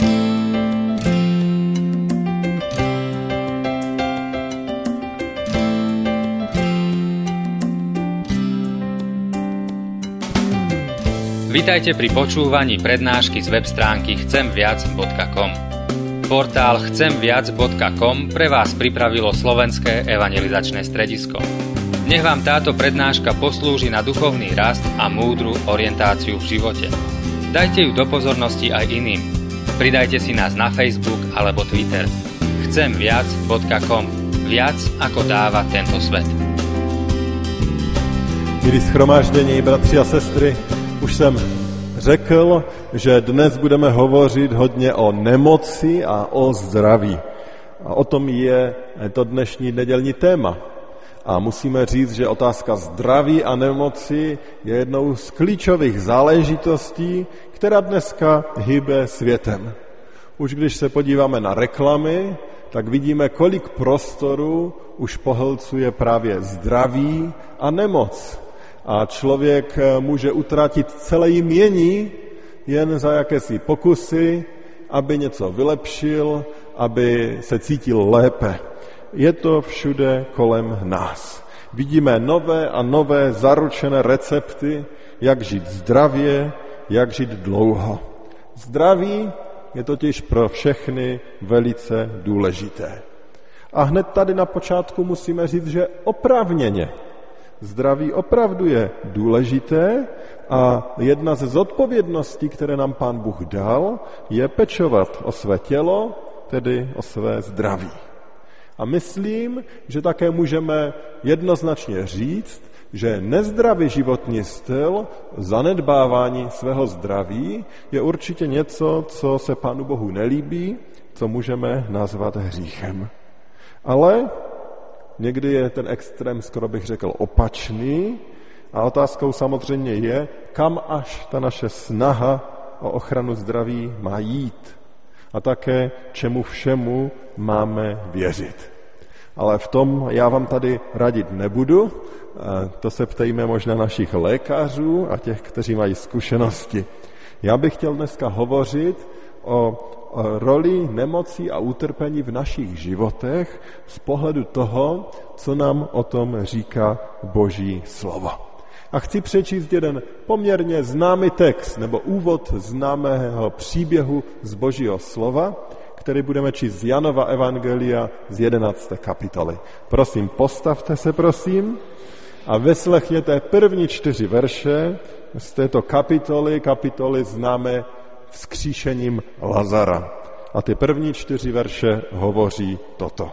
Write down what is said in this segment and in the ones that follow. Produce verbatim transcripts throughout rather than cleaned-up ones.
Vitajte pri počúvaní prednášky z web stránky chcem viac bodka com. Portál chcem viac bodka com pre vás pripravilo Slovenské evangelizačné stredisko. Nech vám táto prednáška poslúži na duchovný rast a múdru orientáciu v živote. Dajte ju do pozornosti aj iným. Pridajte si nás na Facebook alebo Twitter. chcem viac bodka com. Viac ako dáva tento svet. Milí shromáždění, bratři a sestry, už jsem řekl, že dnes budeme hovořit hodně o nemoci a o zdraví. A o tom je to dnešní nedělní téma. A musíme říct, že otázka zdraví a nemoci je jednou z klíčových záležitostí, která dneska hýbe světem. Už když se podíváme na reklamy, tak vidíme, kolik prostoru už pohlcuje právě zdraví a nemoc. A člověk může utratit celé jmění jen za jakési pokusy, aby něco vylepšil, aby se cítil lépe. Je to všude kolem nás. Vidíme nové a nové zaručené recepty, jak žít zdravě, jak žít dlouho. Zdraví je totiž pro všechny velice důležité. A hned tady na počátku musíme říct, že oprávněně. Zdraví opravdu je důležité a jedna ze zodpovědností, které nám Pán Bůh dal, je pečovat o své tělo, tedy o své zdraví. A myslím, že také můžeme jednoznačně říct, že nezdravý životní styl, zanedbávání svého zdraví je určitě něco, co se Pánu Bohu nelíbí, co můžeme nazvat hříchem. Ale někdy je ten extrém, skoro bych řekl, opačný a otázkou samozřejmě je, kam až ta naše snaha o ochranu zdraví má jít a také čemu všemu máme věřit. Ale v tom já vám tady radit nebudu, to se ptejme možná našich lékařů a těch, kteří mají zkušenosti. Já bych chtěl dneska hovořit o roli nemocí a utrpení v našich životech z pohledu toho, co nám o tom říká Boží slovo. A chci přečíst jeden poměrně známý text nebo úvod známého příběhu z Božího slova, který budeme číst z Janova evangelia z jedenácté kapitoly. Prosím, postavte se, prosím, a vyslechněte první čtyři verše z této kapitoly, kapitoly známé vzkříšením Lazara. A ty první čtyři verše hovoří toto.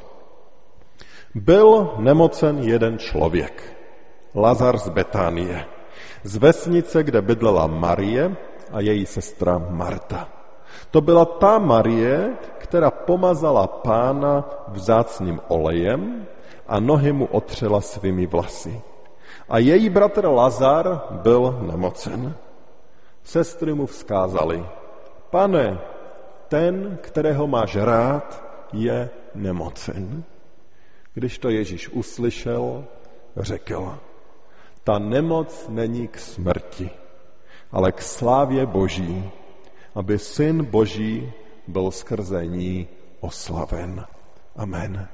Byl nemocen jeden člověk, Lazar z Betánie, z vesnice, kde bydlela Marie a její sestra Marta. To byla ta Marie, která pomazala Pána vzácným olejem a nohy mu otřela svými vlasy. A její bratr Lazar byl nemocen. Sestry mu vzkázali, Pane, ten, kterého máš rád, je nemocen. Když to Ježíš uslyšel, řekl, ta nemoc není k smrti, ale k slávě Boží, aby Syn Boží byl skrze ní oslaven. Amen.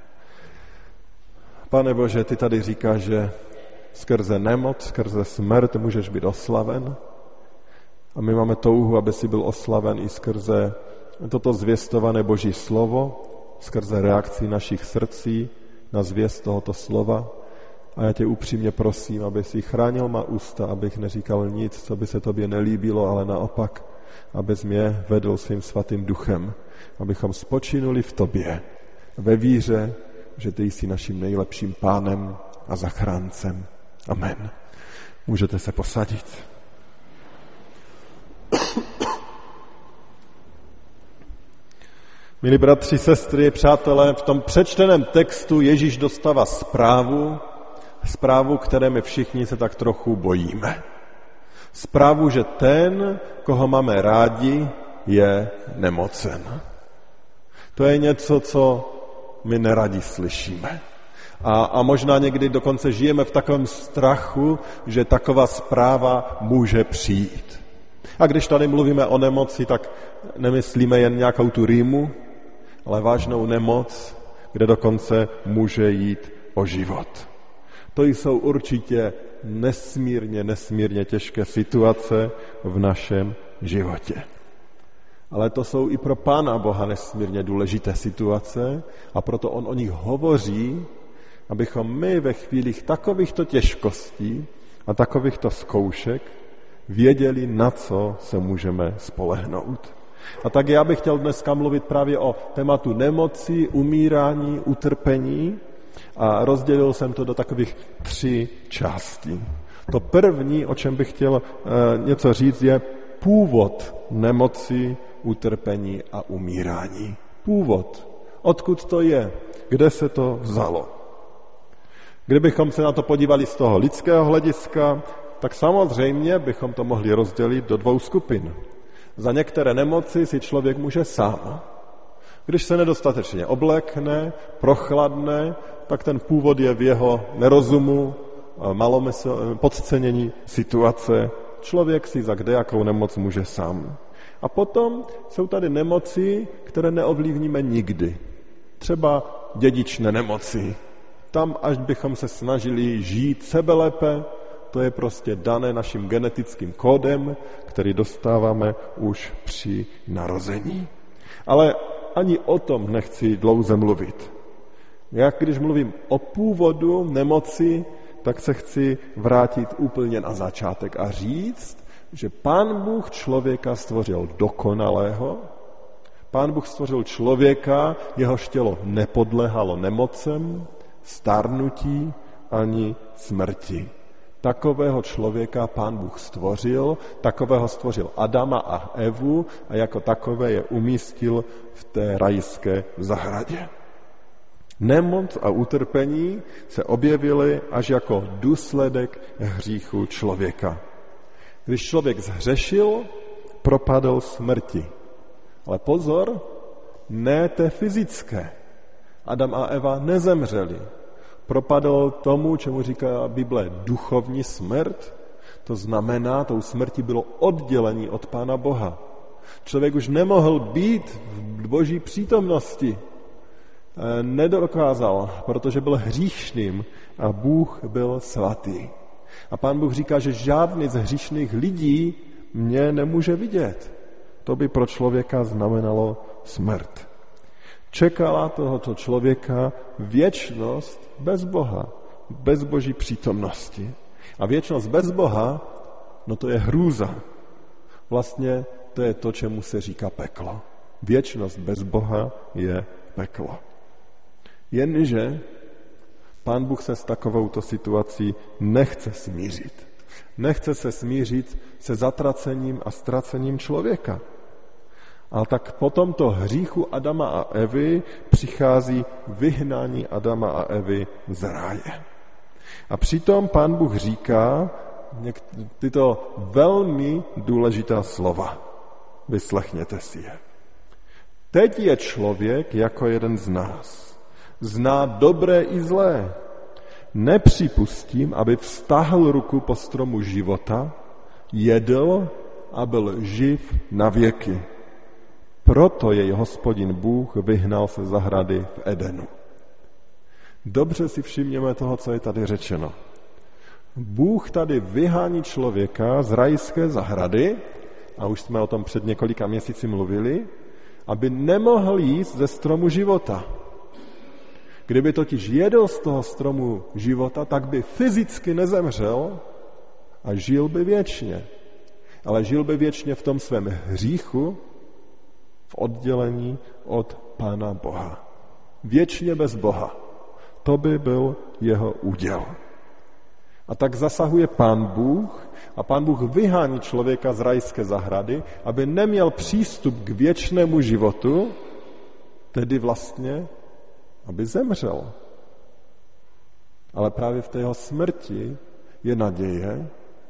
Pane Bože, ty tady říkáš, že skrze nemoc, skrze smrt můžeš být oslaven. A my máme touhu, aby si byl oslaven i skrze toto zvěstované Boží slovo, skrze reakci našich srdcí na zvěst tohoto slova. A já tě upřímně prosím, aby si chránil má ústa, abych neříkal nic, co by se tobě nelíbilo, ale naopak, abys mě vedl svým svatým duchem, abychom spočinuli v tobě, ve víře, že ty jsi naším nejlepším pánem a zachráncem. Amen. Můžete se posadit. Milí bratři, sestry, přátelé, v tom přečteném textu Ježíš dostává zprávu, zprávu, které my všichni se tak trochu bojíme. Zprávu, že ten, koho máme rádi, je nemocen. To je něco, co my neradi slyšíme. A, a možná někdy dokonce žijeme v takovém strachu, že taková zpráva může přijít. A když tady mluvíme o nemoci, tak nemyslíme jen nějakou tu rýmu, ale vážnou nemoc, kde dokonce může jít o život. To jsou určitě nesmírně, nesmírně těžké situace v našem životě. Ale to jsou i pro Pána Boha nesmírně důležité situace a proto on o nich hovoří, abychom my ve chvílích takovýchto těžkostí a takovýchto zkoušek věděli, na co se můžeme spolehnout. A tak já bych chtěl dneska mluvit právě o tématu nemoci, umírání, utrpení a rozdělil jsem to do takových tří částí. To první, o čem bych chtěl e, něco říct, je původ nemoci, utrpení a umírání. Původ. Odkud to je? Kde se to vzalo? Kdybychom se na to podívali z toho lidského hlediska, tak samozřejmě bychom to mohli rozdělit do dvou skupin. Za některé nemoci si člověk může sám. Když se nedostatečně oblékne, prochladne, tak ten původ je v jeho nerozumu, malomysl, podcenění situace. Člověk si za kdejakou nemoc může sám. A potom jsou tady nemoci, které neovlivníme nikdy. Třeba dědičné nemoci. Tam, až bychom se snažili žít sebelépe, to je prostě dané naším genetickým kódem, který dostáváme už při narození. Ale ani o tom nechci dlouze mluvit. Jak když mluvím o původu nemoci, tak se chci vrátit úplně na začátek a říct, že Pán Bůh člověka stvořil dokonalého, Pán Bůh stvořil člověka, jehož tělo nepodléhalo nemocem, stárnutí ani smrti. Takového člověka Pán Bůh stvořil, takového stvořil Adama a Evu a jako takové je umístil v té rajské zahradě. Nemoc a utrpení se objevily až jako důsledek hříchu člověka. Když člověk zhřešil, propadl smrti. Ale pozor, ne té fyzické. Adam a Eva nezemřeli. Propadl tomu, čemu říká Bible, duchovní smrt. To znamená, tou smrti bylo oddělení od Pána Boha. Člověk už nemohl být v Boží přítomnosti. Nedokázal, protože byl hříšným a Bůh byl svatý. A Pán Bůh říká, že žádný z hříšných lidí mě nemůže vidět. To by pro člověka znamenalo smrt. Čekala tohoto člověka věčnost bez Boha, bez Boží přítomnosti. A věčnost bez Boha, no to je hrůza. Vlastně to je to, čemu se říká peklo. Věčnost bez Boha je peklo. Jenže Pán Bůh se s takovouto situací nechce smířit. Nechce se smířit se zatracením a ztracením člověka. Ale tak po tomto hříchu Adama a Evy přichází vyhnání Adama a Evy z ráje. A přitom Pán Bůh říká tyto velmi důležitá slova. Vyslechněte si je. Teď je člověk jako jeden z nás. Zná dobré i zlé. Nepřipustím, aby vztahl ruku po stromu života, jedl a byl živ na věky. Proto jej Hospodin Bůh vyhnal se zahrady v Edenu. Dobře si všimněme toho, co je tady řečeno. Bůh tady vyhání člověka z rajské zahrady, a už jsme o tom před několika měsíci mluvili, aby nemohl jíst ze stromu života. Kdyby totiž jedl z toho stromu života, tak by fyzicky nezemřel a žil by věčně. Ale žil by věčně v tom svém hříchu, v oddělení od Pána Boha. Věčně bez Boha. To by byl jeho úděl. A tak zasahuje Pán Bůh a Pán Bůh vyhání člověka z rajské zahrady, aby neměl přístup k věčnému životu, tedy vlastně, aby zemřel. Ale právě v té jeho smrti je naděje,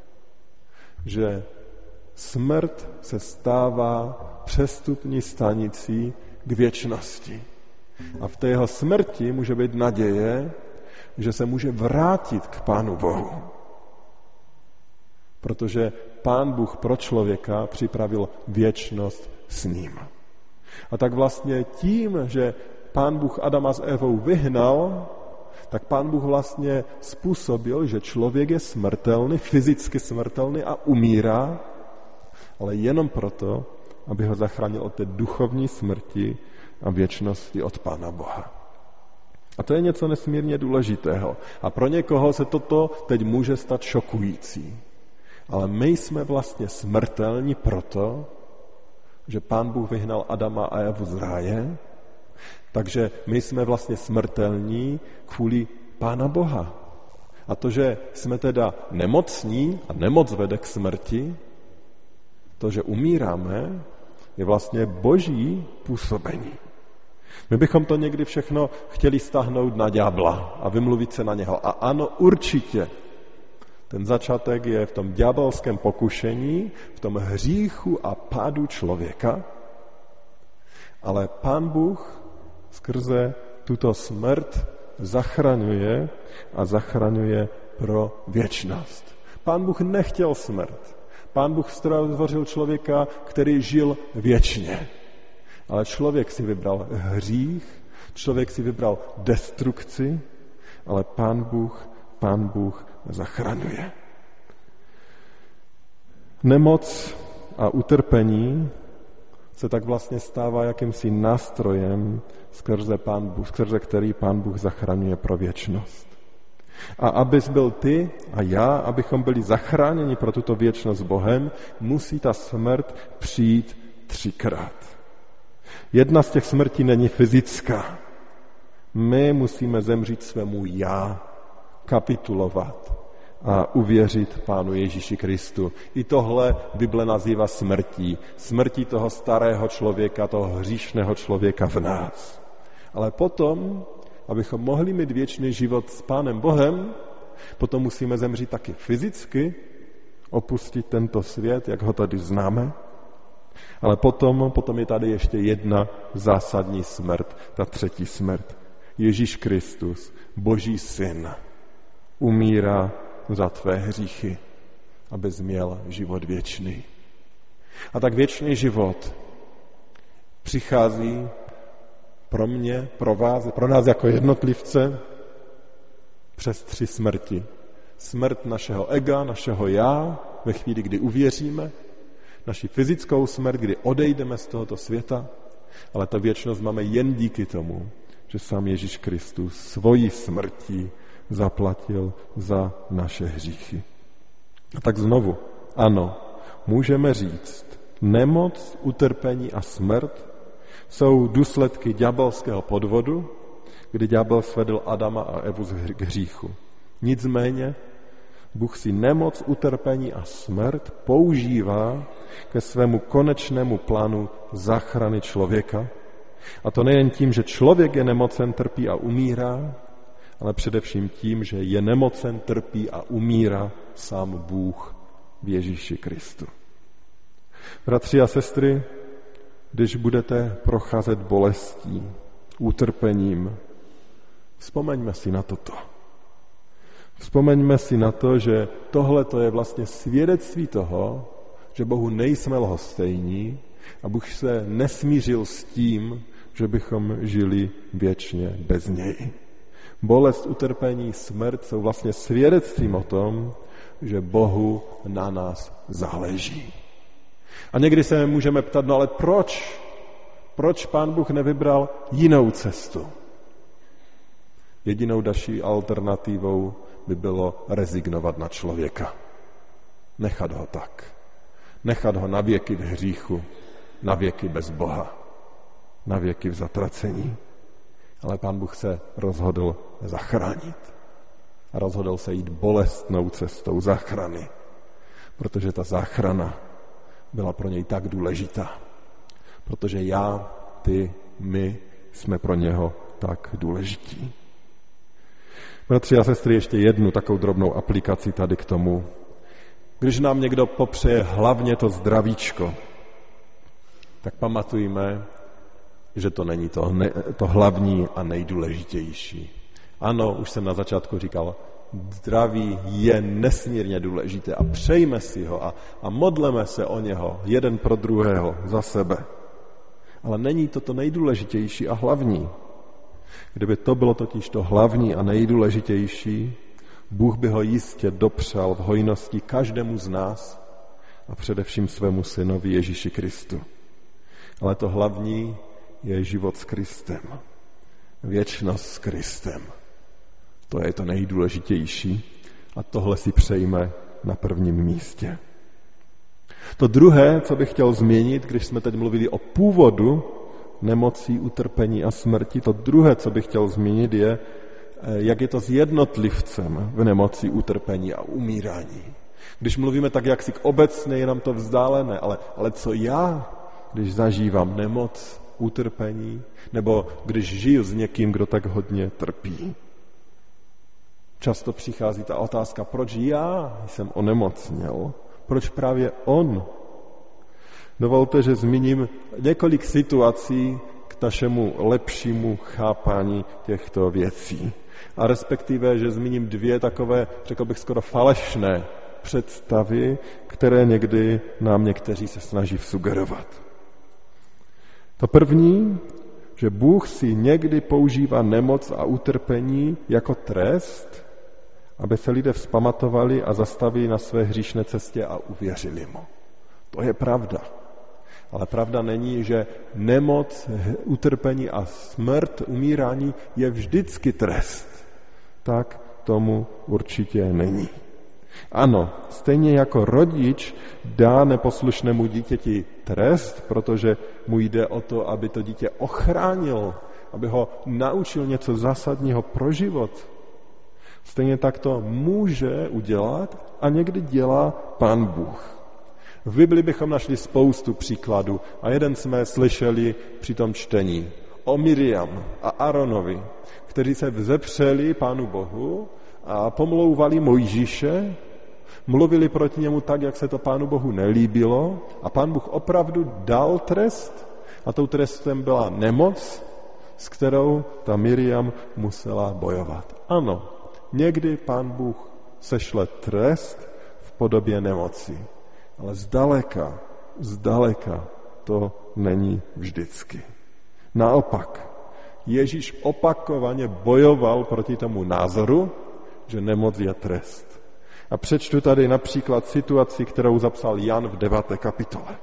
že smrt se stává přestupní stanicí k věčnosti. A v té jeho smrti může být naděje, že se může vrátit k Pánu Bohu. Protože Pán Bůh pro člověka připravil věčnost s ním. A tak vlastně tím, že Pán Bůh Adama s Evou vyhnal, tak Pán Bůh vlastně způsobil, že člověk je smrtelný, fyzicky smrtelný a umírá, ale jenom proto, aby ho zachránil od té duchovní smrti a věčnosti od Pána Boha. A to je něco nesmírně důležitého. A pro někoho se toto teď může stát šokující. Ale my jsme vlastně smrtelní proto, že Pán Bůh vyhnal Adama a Evu z ráje, takže my jsme vlastně smrtelní kvůli Pána Boha. A to, že jsme teda nemocní a nemoc vede k smrti, to, že umíráme, je vlastně boží působení. My bychom to někdy všechno chtěli stáhnout na ďábla a vymluvit se na něho. A ano, určitě. Ten začátek je v tom ďábelském pokušení, v tom hříchu a pádu člověka. Ale Pán Bůh skrze tuto smrt zachraňuje a zachraňuje pro věčnost. Pán Bůh nechtěl smrt. Pán Bůh stvořil člověka, který žil věčně. Ale člověk si vybral hřích, člověk si vybral destrukci, ale Pán Bůh, Pán Bůh zachraňuje. Nemoc a utrpení se tak vlastně stává jakýmsi nástrojem, skrze, Pán Bůh, skrze který Pán Bůh zachraňuje pro věčnost. A abys byl ty a já, abychom byli zachráněni pro tuto věčnost s Bohem, musí ta smrt přijít třikrát. Jedna z těch smrtí není fyzická. My musíme zemřít svému já, kapitulovat a uvěřit Pánu Ježíši Kristu. I tohle Bible nazývá smrtí. Smrtí toho starého člověka, toho hříšného člověka v nás. Ale potom, abychom mohli mít věčný život s Pánem Bohem, potom musíme zemřít taky fyzicky, opustit tento svět, jak ho tady známe. Ale potom, potom je tady ještě jedna zásadní smrt, ta třetí smrt. Ježíš Kristus, Boží syn, umírá za tvé hříchy, abys měl život věčný. A tak věčný život přichází pro mě, pro vás, pro nás jako jednotlivce přes tři smrti. Smrt našeho ega, našeho já, ve chvíli, kdy uvěříme, naši fyzickou smrt, kdy odejdeme z tohoto světa, ale ta věčnost máme jen díky tomu, že sám Ježíš Kristus svojí smrtí zaplatil za naše hříchy. A tak znovu, ano, můžeme říct, nemoc, utrpení a smrt jsou důsledky ďábelského podvodu, kdy ďábel svedl Adama a Evu k hříchu. Nicméně Bůh si nemoc, utrpení a smrt používá ke svému konečnému plánu záchrany člověka. A to nejen tím, že člověk je nemocen, trpí a umírá, ale především tím, že je nemocen, trpí a umírá sám Bůh v Ježíši Kristu. Bratři a sestry, když budete procházet bolestí, utrpením, vzpomeňme si na toto. Vzpomeňme si na to, že tohle to je vlastně svědectví toho, že Bohu nejsme lhostejní a Bůh se nesmířil s tím, že bychom žili věčně bez něj. Bolest, utrpení, smrt jsou vlastně svědectvím o tom, že Bohu na nás záleží. A někdy se můžeme ptat, no ale proč? Proč Pán Bůh nevybral jinou cestu? Jedinou další alternativou by bylo rezignovat na člověka. Nechat ho tak. Nechat ho na věky v hříchu, na věky bez Boha, na věky v zatracení. Ale Pán Bůh se rozhodl zachránit. A rozhodl se jít bolestnou cestou záchrany, protože ta záchrana byla pro něj tak důležitá. Protože já, ty, my jsme pro něho tak důležití. Bratři a sestry, ještě jednu takovou drobnou aplikaci tady k tomu. Když nám někdo popřeje hlavně to zdravíčko, tak pamatujme, že to není to, ne, to hlavní a nejdůležitější. Ano, už jsem na začátku říkal, zdraví je nesmírně důležité a přejme si ho a, a modleme se o něho jeden pro druhého za sebe. Ale není to to nejdůležitější a hlavní. Kdyby to bylo totiž to hlavní a nejdůležitější, Bůh by ho jistě dopřál v hojnosti každému z nás a především svému synovi Ježíši Kristu. Ale to hlavní je život s Kristem. Věčnost s Kristem. To je to nejdůležitější a tohle si přejme na prvním místě. To druhé, co bych chtěl zmínit, když jsme teď mluvili o původu nemocí, utrpení a smrti, to druhé, co bych chtěl zmínit, je, jak je to s jednotlivcem v nemoci, utrpení a umírání. Když mluvíme tak jaksi obecně, je nám to vzdálené, ale, ale co já, když zažívám nemoc, utrpení, nebo když žiju s někým, kdo tak hodně trpí. Často přichází ta otázka, proč já jsem onemocněl, proč právě on. Dovolte, že zmíním několik situací k našemu lepšímu chápání těchto věcí. A respektive, že zmíním dvě takové, řekl bych, skoro falešné představy, které někdy nám někteří se snaží vsugerovat. To první, že Bůh si někdy používá nemoc a utrpení jako trest, aby se lidé vzpamatovali a zastavili na své hříšné cestě a uvěřili mu. To je pravda. Ale pravda není, že nemoc, utrpení a smrt, umírání je vždycky trest. Tak tomu určitě není. Ano, stejně jako rodič dá neposlušnému dítěti trest, protože mu jde o to, aby to dítě ochránil, aby ho naučil něco zásadního pro život. Stejně tak to může udělat a někdy dělá Pán Bůh. V Bibli bychom našli spoustu příkladů a jeden jsme slyšeli při tom čtení o Miriam a Aronovi, kteří se vzepřeli Pánu Bohu a pomlouvali Mojžíše, mluvili proti němu tak, jak se to Pánu Bohu nelíbilo a Pán Bůh opravdu dal trest a tou trestem byla nemoc, s kterou ta Miriam musela bojovat. Ano, někdy Pán Bůh sešle trest v podobě nemoci, ale zdaleka, zdaleka to není vždycky. Naopak, Ježíš opakovaně bojoval proti tomu názoru, že nemoc je trest. A přečtu tady například situaci, kterou zapsal Jan v deváté kapitole.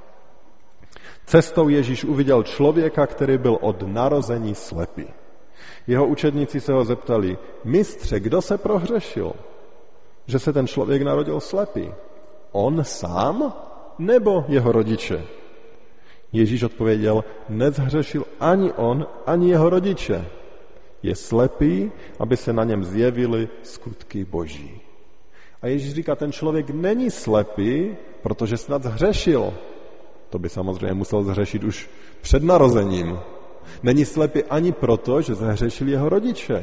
Cestou Ježíš uviděl člověka, který byl od narození slepý. Jeho učedníci se ho zeptali, mistře, kdo se prohřešil, že se ten člověk narodil slepý? On sám nebo jeho rodiče? Ježíš odpověděl, nezhřešil ani on, ani jeho rodiče. Je slepý, aby se na něm zjevily skutky Boží. A Ježíš říká, ten člověk není slepý, protože snad zhřešil. To by samozřejmě musel zhřešit už před narozením. Není slepý ani proto, že zhřešili jeho rodiče.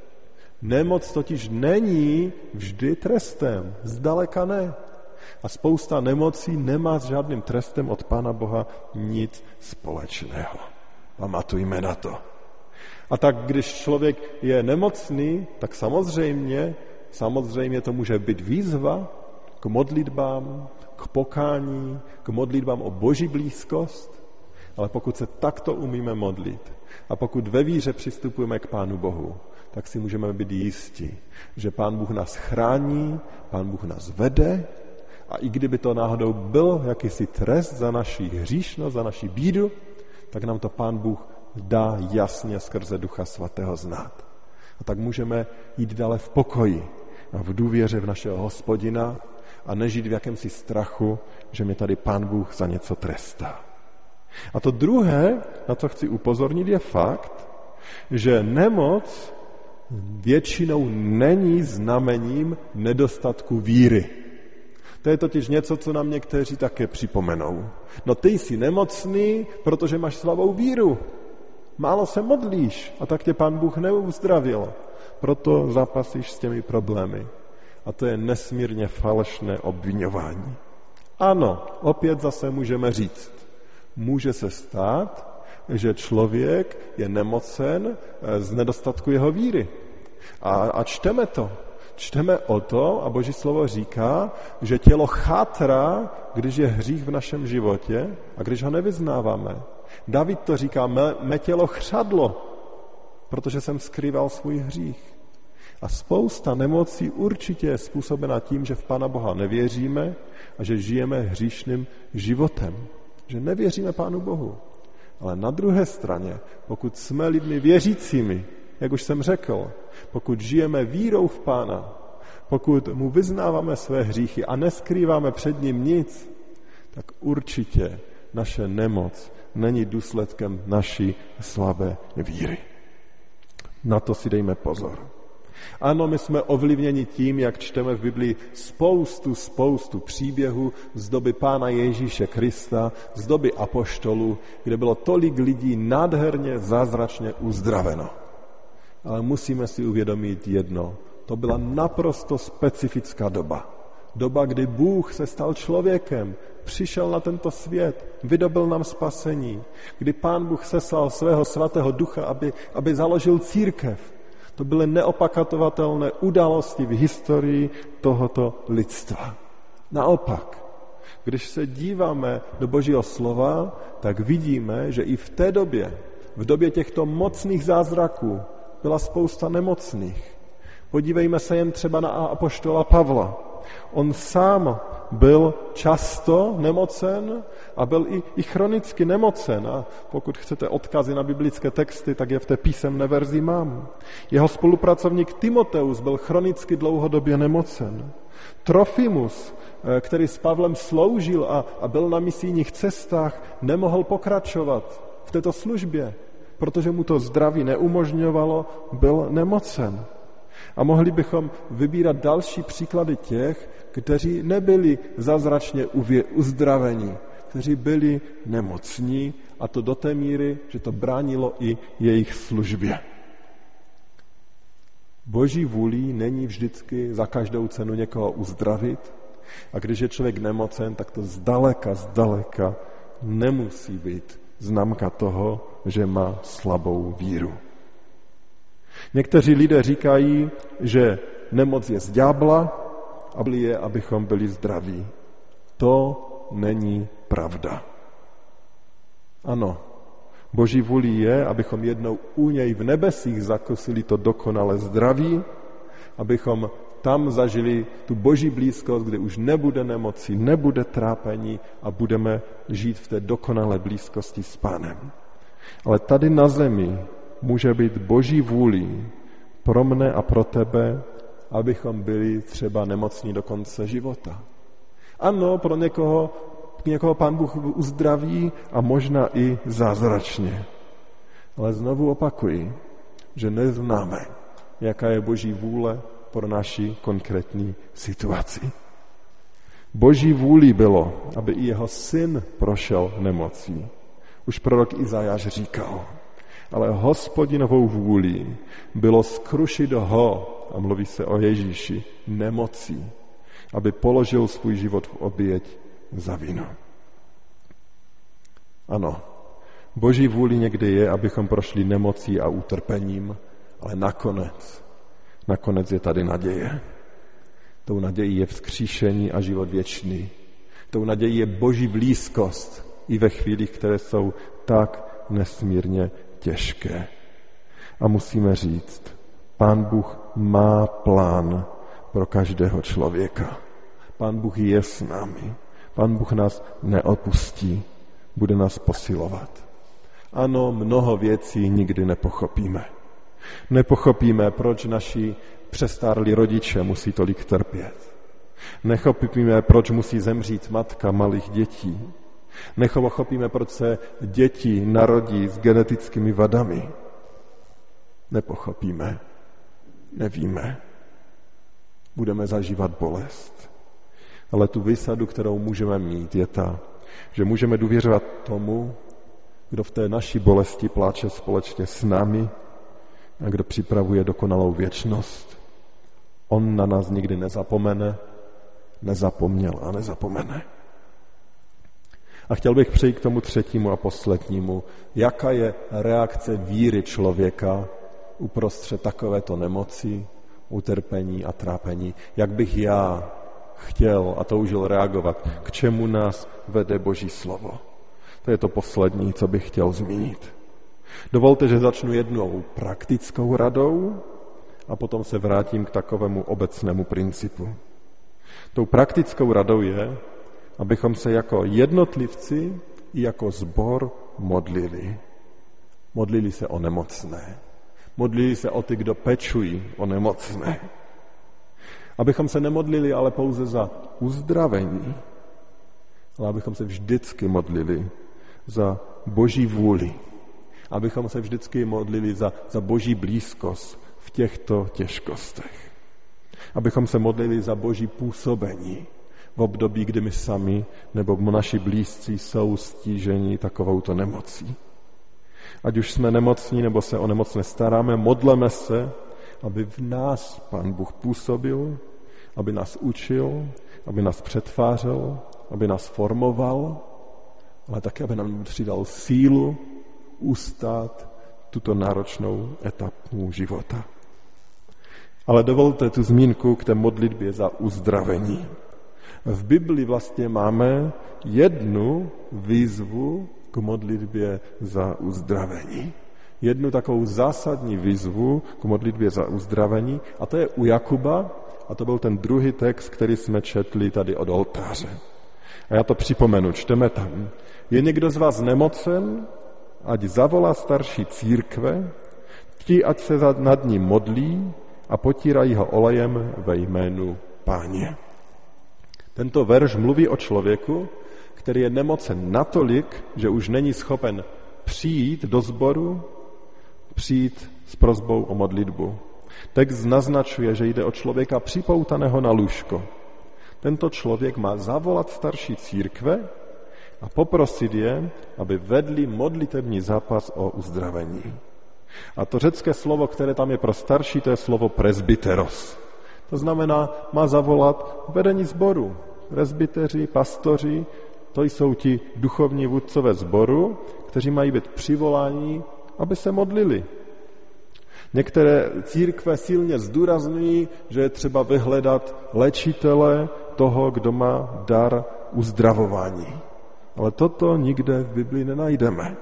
Nemoc totiž není vždy trestem, zdaleka ne. A spousta nemocí nemá s žádným trestem od Pána Boha nic společného. Pamatujme na to. A tak, když člověk je nemocný, tak samozřejmě, samozřejmě to může být výzva k modlitbám, k pokání, k modlitbám o Boží blízkost, ale pokud se takto umíme modlit a pokud ve víře přistupujeme k Pánu Bohu, tak si můžeme být jistí, že Pán Bůh nás chrání, Pán Bůh nás vede a i kdyby to náhodou byl jakýsi trest za naši hříšnost, za naši bídu, tak nám to Pán Bůh dá jasně skrze Ducha Svatého znát. A tak můžeme jít dále v pokoji a v důvěře v našeho Hospodina a nežít v jakémsi strachu, že mě tady Pán Bůh za něco trestá. A to druhé, na co chci upozornit, je fakt, že nemoc většinou není znamením nedostatku víry. To je totiž něco, co nám někteří také připomenou. No ty jsi nemocný, protože máš slabou víru. Málo se modlíš a tak tě Pán Bůh neuzdravil. Proto zápasíš s těmi problémy. A to je nesmírně falešné obviňování. Ano, opět zase můžeme říct. Může se stát, že člověk je nemocen z nedostatku jeho víry. A, a čteme to. Čteme o to, a Boží slovo říká, že tělo chátrá, když je hřích v našem životě a když ho nevyznáváme. David to říká, mé, mé tělo chřadlo, protože jsem skrýval svůj hřích. A spousta nemocí určitě je způsobena tím, že v Pána Boha nevěříme a že žijeme hříšným životem. Že nevěříme Pánu Bohu. Ale na druhé straně, pokud jsme lidmi věřícími, jak už jsem řekl, pokud žijeme vírou v Pána, pokud mu vyznáváme své hříchy a neskrýváme před ním nic, tak určitě naše nemoc není důsledkem naší slabé víry. Na to si dejme pozor. Ano, my jsme ovlivněni tím, jak čteme v Biblii spoustu, spoustu příběhů z doby Pána Ježíše Krista, z doby apoštolů, kde bylo tolik lidí nádherně, zázračně uzdraveno. Ale musíme si uvědomit jedno. To byla naprosto specifická doba. Doba, kdy Bůh se stal člověkem, přišel na tento svět, vydobil nám spasení, kdy Pán Bůh seslal svého svatého ducha, aby, aby založil církev. To byly neopakovatelné události v historii tohoto lidstva. Naopak, když se díváme do Božího slova, tak vidíme, že i v té době, v době těchto mocných zázraků, byla spousta nemocných. Podívejme se jen třeba na apoštola Pavla. On sám byl často nemocen a byl i, i chronicky nemocen. A pokud chcete odkazy na biblické texty, tak je v té písemné verzi mám. Jeho spolupracovník Timoteus byl chronicky dlouhodobě nemocen. Trofimus, který s Pavlem sloužil a, a byl na misijních cestách, nemohl pokračovat v této službě, protože mu to zdraví neumožňovalo, byl nemocen. A mohli bychom vybírat další příklady těch, kteří nebyli zázračně uzdraveni, kteří byli nemocní, a to do té míry, že to bránilo i jejich službě. Boží vůlí není vždycky za každou cenu někoho uzdravit, a když je člověk nemocen, tak to zdaleka, zdaleka nemusí být známka toho, že má slabou víru. Někteří lidé říkají, že nemoc je z ďábla a byli je, abychom byli zdraví. To není pravda. Ano, Boží vůlí je, abychom jednou u něj v nebesích zakusili to dokonalé zdraví, abychom tam zažili tu Boží blízkost, kde už nebude nemoci, nebude trápení a budeme žít v té dokonalé blízkosti s Pánem. Ale tady na zemi může být Boží vůlí pro mne a pro tebe, abychom byli třeba nemocní do konce života. Ano, pro někoho, někoho Pán Bůh uzdraví a možná i zázračně. Ale znovu opakuji, že neznáme, jaká je Boží vůle pro naši konkrétní situaci. Boží vůlí bylo, aby i jeho syn prošel nemocí. Už prorok Izajáš říkal, ale Hospodinovou vůlí bylo skrušit ho, a mluví se o Ježíši, nemocí, aby položil svůj život v oběť za vinu. Ano, Boží vůli někdy je, abychom prošli nemocí a utrpením, ale nakonec, nakonec je tady naděje. Tou nadějí je vzkříšení a život věčný. Tou nadějí je Boží blízkost i ve chvílích, které jsou tak nesmírně těžké. A musíme říct, Pán Bůh má plán pro každého člověka. Pán Bůh je s námi. Pán Bůh nás neopustí, bude nás posilovat. Ano, mnoho věcí nikdy nepochopíme. Nepochopíme, proč naši přestárlí rodiče musí tolik trpět. Nepochopíme, proč musí zemřít matka malých dětí. Nepochopíme, proč se děti narodí s genetickými vadami. Nepochopíme, nevíme. Budeme zažívat bolest. Ale tu výsadu, kterou můžeme mít, je ta, že můžeme důvěřovat tomu, kdo v té naší bolesti pláče společně s námi a kdo připravuje dokonalou věčnost. On na nás nikdy nezapomene, nezapomněl a nezapomene. A chtěl bych přejít k tomu třetímu a poslednímu. Jaká je reakce víry člověka uprostřed takovéto nemoci, utrpení a trápení. Jak bych já chtěl a toužil reagovat, k čemu nás vede Boží slovo. To je to poslední, co bych chtěl zmínit. Dovolte, že začnu jednou praktickou radou a potom se vrátím k takovému obecnému principu. Tou praktickou radou je, abychom se jako jednotlivci i jako sbor modlili. Modlili se o nemocné. Modlili se o ty, kdo pečují o nemocné. Abychom se nemodlili ale pouze za uzdravení, ale abychom se vždycky modlili za Boží vůli. Abychom se vždycky modlili za, za Boží blízkost v těchto těžkostech. Abychom se modlili za Boží působení v období, kdy my sami nebo naši blízcí jsou stíženi takovouto nemocí. Ať už jsme nemocní nebo se o nemocné staráme, modleme se, aby v nás Pán Bůh působil, aby nás učil, aby nás přetvářel, aby nás formoval, ale také, aby nám přidal sílu ustát tuto náročnou etapu života. Ale dovolte tu zmínku k té modlitbě za uzdravení. V Biblii vlastně máme jednu výzvu k modlitbě za uzdravení. Jednu takovou zásadní výzvu k modlitbě za uzdravení, a to je u Jakuba, a to byl ten druhý text, který jsme četli tady od oltáře. A já to připomenu, čteme tam. Je někdo z vás nemocen, ať zavolá starší církve, ti, ať se nad ním modlí a potírají ho olejem ve jménu Páně. Tento verš mluví o člověku, který je nemocen natolik, že už není schopen přijít do sboru, přijít s prosbou o modlitbu. Text naznačuje, že jde o člověka připoutaného na lůžko. Tento člověk má zavolat starší církve a poprosit je, aby vedli modlitební zápas o uzdravení. A to řecké slovo, které tam je pro starší, to je slovo presbyteros. To znamená, má zavolat vedení sboru. Presbyteři, pastoři, to jsou ti duchovní vůdcové sboru, kteří mají být přivoláni, aby se modlili. Některé církve silně zdůrazňují, že je třeba vyhledat léčitele toho, kdo má dar uzdravování. Ale toto nikde v Biblii nenajdeme.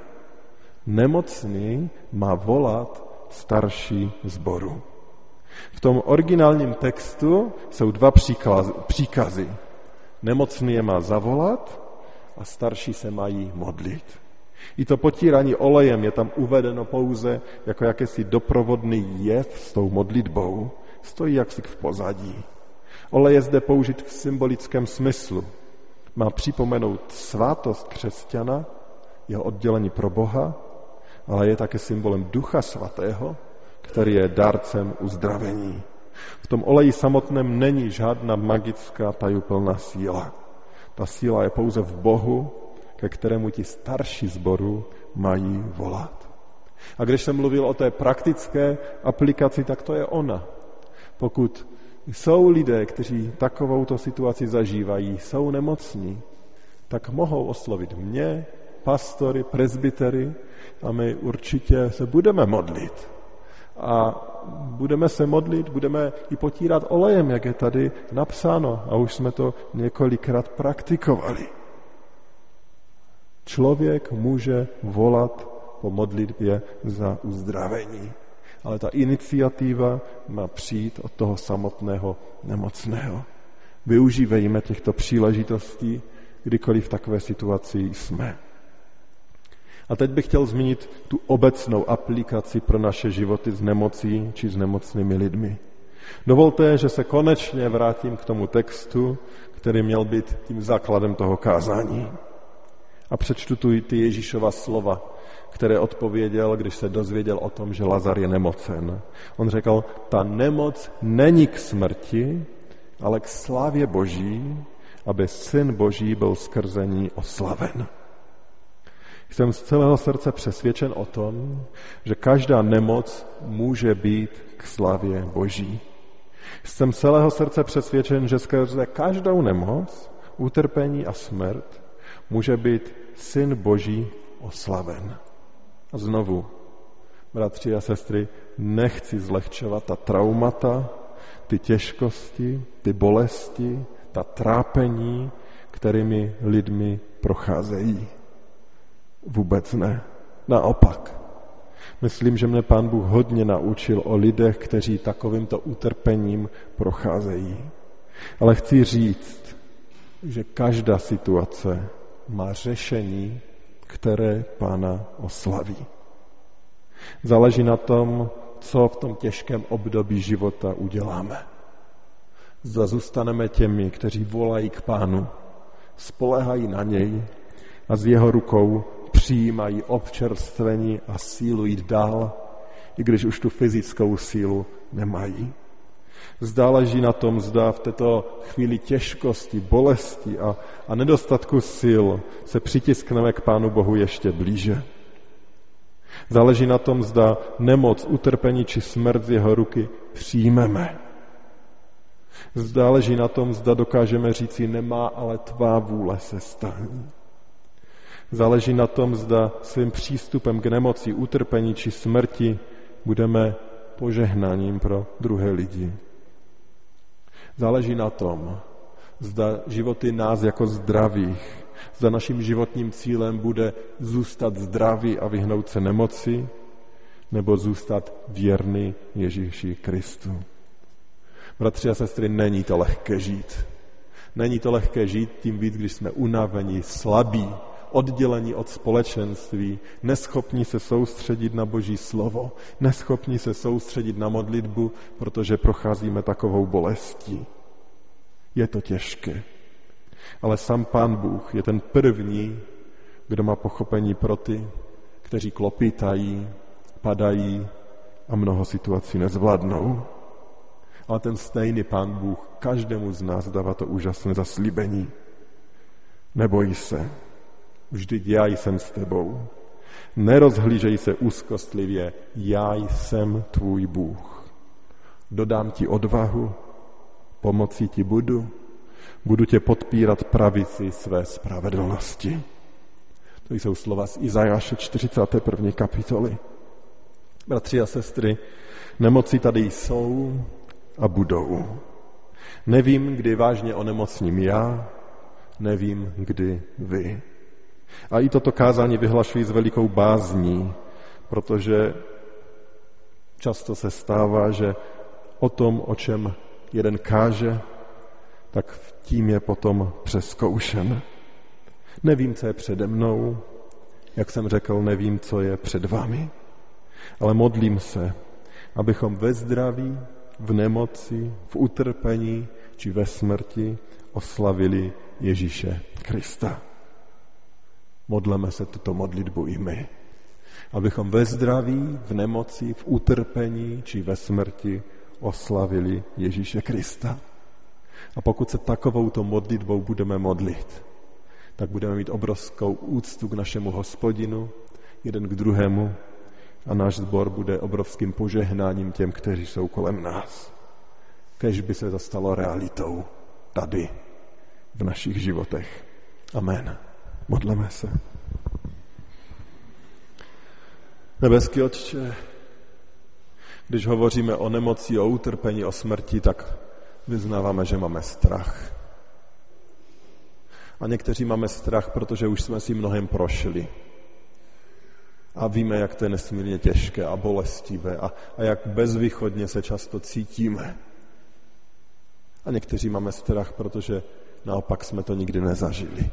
Nemocný má volat starší sboru. V tom originálním textu jsou dva příkazy. Nemocný je má zavolat a starší se mají modlit. I to potírání olejem je tam uvedeno pouze jako jakési doprovodný jev s tou modlitbou. Stojí jaksi v pozadí. Olej je zde použit v symbolickém smyslu. Má připomenout svátost křesťana, jeho oddělení pro Boha, ale je také symbolem Ducha Svatého, který je dárcem uzdravení. V tom oleji samotném není žádná magická tajuplná síla. Ta síla je pouze v Bohu, ke kterému ti starší sboru mají volat. A když jsem mluvil o té praktické aplikaci, tak to je ona. Pokud jsou lidé, kteří takovouto situaci zažívají, jsou nemocní, tak mohou oslovit mě, pastory, presbytery, a my určitě se budeme modlit. A budeme se modlit, budeme i potírat olejem, jak je tady napsáno. A už jsme to několikrát praktikovali. Člověk může volat po modlitbě za uzdravení. Ale ta iniciativa má přijít od toho samotného nemocného. Využívejme těchto příležitostí, kdykoliv v takové situaci jsme. A teď bych chtěl zmínit tu obecnou aplikaci pro naše životy s nemocí či s nemocnými lidmi. Dovolte, že se konečně vrátím k tomu textu, který měl být tím základem toho kázání. A přečtu tu ty Ježíšova slova, které odpověděl, když se dozvěděl o tom, že Lazar je nemocen. On řekl, ta nemoc není k smrti, ale k slávě Boží, aby Syn Boží byl skrze ní oslaven. Jsem z celého srdce přesvědčen o tom, že každá nemoc může být k slávě Boží. Jsem z celého srdce přesvědčen, že skrze každou nemoc, utrpení a smrt může být Syn Boží oslaven. A znovu, bratři a sestry, nechci zlehčovat ta traumata, ty těžkosti, ty bolesti, ta trápení, kterými lidmi procházejí. Vůbec ne. Naopak. Myslím, že mě Pán Bůh hodně naučil o lidech, kteří takovýmto utrpením procházejí. Ale chci říct, že každá situace má řešení, které Pána oslaví. Záleží na tom, co v tom těžkém období života uděláme. Zda zůstaneme těmi, kteří volají k Pánu, spoléhají na něj a z jeho rukou přijímají občerstvení a sílu jít dál, i když už tu fyzickou sílu nemají. Záleží na tom, zda v této chvíli těžkosti, bolesti a, a nedostatku sil se přitiskneme k Pánu Bohu ještě blíže. Záleží na tom, zda nemoc, utrpení či smrt z jeho ruky přijmeme. Záleží na tom, zda dokážeme říci, nemá, ale tvá vůle se stane. Záleží na tom, zda svým přístupem k nemoci, utrpení či smrti budeme požehnáním pro druhé lidi. Záleží na tom, zda životy nás jako zdravých, zda naším životním cílem bude zůstat zdravý a vyhnout se nemoci, nebo zůstat věrný Ježíši Kristu. Bratři a sestry, není to lehké žít. Není to lehké žít, tím víc, když jsme unavení, slabí, oddělení od společenství, neschopní se soustředit na Boží slovo, neschopní se soustředit na modlitbu, protože procházíme takovou bolestí. Je to těžké. Ale sám Pán Bůh je ten první, kdo má pochopení pro ty, kteří klopýtají, padají a mnoho situací nezvládnou. Ale ten stejný Pán Bůh každému z nás dává to úžasné zaslíbení. Neboj se, vždyť já jsem s tebou. Nerozhlížej se úzkostlivě, já jsem tvůj Bůh. Dodám ti odvahu, pomocí ti budu, budu tě podpírat pravici své spravedlnosti. To jsou slova z Izajáše čtyřicáté první kapitoly. Bratři a sestry, nemoci tady jsou a budou. Nevím, kdy vážně onemocním já, nevím, kdy vy. A i toto kázání vyhlašuji s velikou bázní, protože často se stává, že o tom, o čem jeden káže, tak tím je potom přezkoušen. Nevím, co je přede mnou, jak jsem řekl, nevím, co je před vámi, ale modlím se, abychom ve zdraví, v nemoci, v utrpení či ve smrti oslavili Ježíše Krista. Modleme se tuto modlitbu i my, abychom ve zdraví, v nemoci, v utrpení či ve smrti oslavili Ježíše Krista. A pokud se takovouto modlitbou budeme modlit, tak budeme mít obrovskou úctu k našemu Hospodinu, jeden k druhému, a náš sbor bude obrovským požehnáním těm, kteří jsou kolem nás. Kéž by se to stalo realitou tady, v našich životech. Amen. Modleme se. Nebeský Otče, když hovoříme o nemoci, o utrpení, o smrti, tak vyznáváme, že máme strach. A někteří máme strach, protože už jsme si mnohem prošli. A víme, jak to je nesmírně těžké a bolestivé a, a jak bezvýchodně se často cítíme. A někteří máme strach, protože naopak jsme to nikdy nezažili.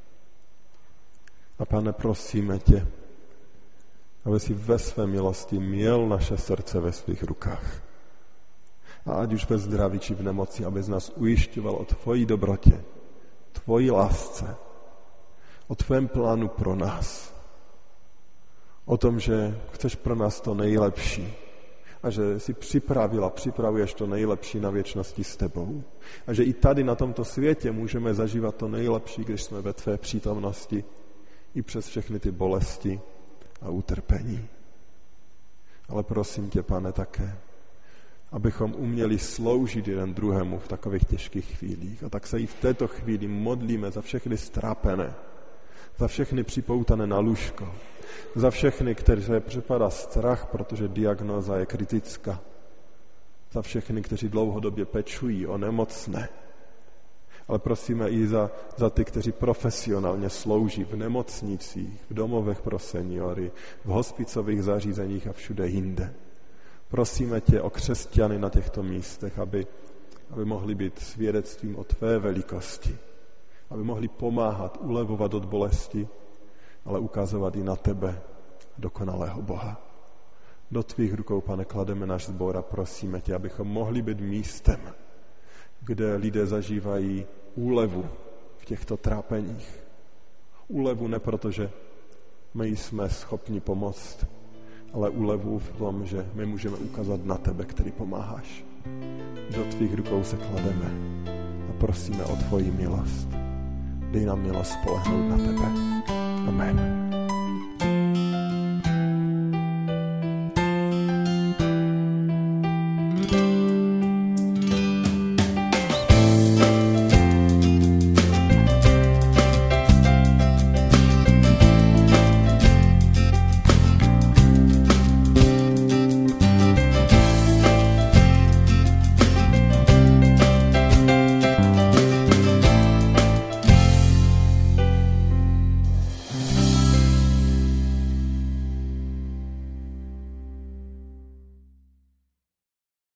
A Pane, prosíme tě, aby si ve své milosti měl naše srdce ve svých rukách. A ať už ve zdraví či v nemoci, aby z nás ujišťoval o tvojí dobrotě, tvojí lásce, o tvém plánu pro nás. O tom, že chceš pro nás to nejlepší a že jsi připravil a připravuješ to nejlepší na věčnosti s tebou. A že i tady na tomto světě můžeme zažívat to nejlepší, když jsme ve tvé přítomnosti i přes všechny ty bolesti a utrpení. Ale prosím tě, Pane, také, abychom uměli sloužit jeden druhému v takových těžkých chvílích. A tak se i v této chvíli modlíme za všechny strápené, za všechny připoutané na lůžko, za všechny, které přepadá strach, protože diagnóza je kritická. za všechny, kteří dlouhodobě pečují o nemocné. Ale prosíme i za, za ty, kteří profesionálně slouží v nemocnicích, v domovech pro seniory, v hospicových zařízeních a všude jinde. Prosíme tě o křesťany na těchto místech, aby, aby mohli být svědectvím o tvé velikosti, aby mohli pomáhat, ulevovat od bolesti, ale ukazovat i na tebe, dokonalého Boha. Do tvých rukou, Pane, klademe náš sbor a prosíme tě, abychom mohli být místem, kde lidé zažívají úlevu v těchto trápeních. Úlevu ne proto, že my jsme schopni pomoct, ale úlevu v tom, že my můžeme ukázat na tebe, který pomáháš. Do tvých rukou se klademe a prosíme o tvoji milost. Dej nám milost spolehnout na tebe. Amen.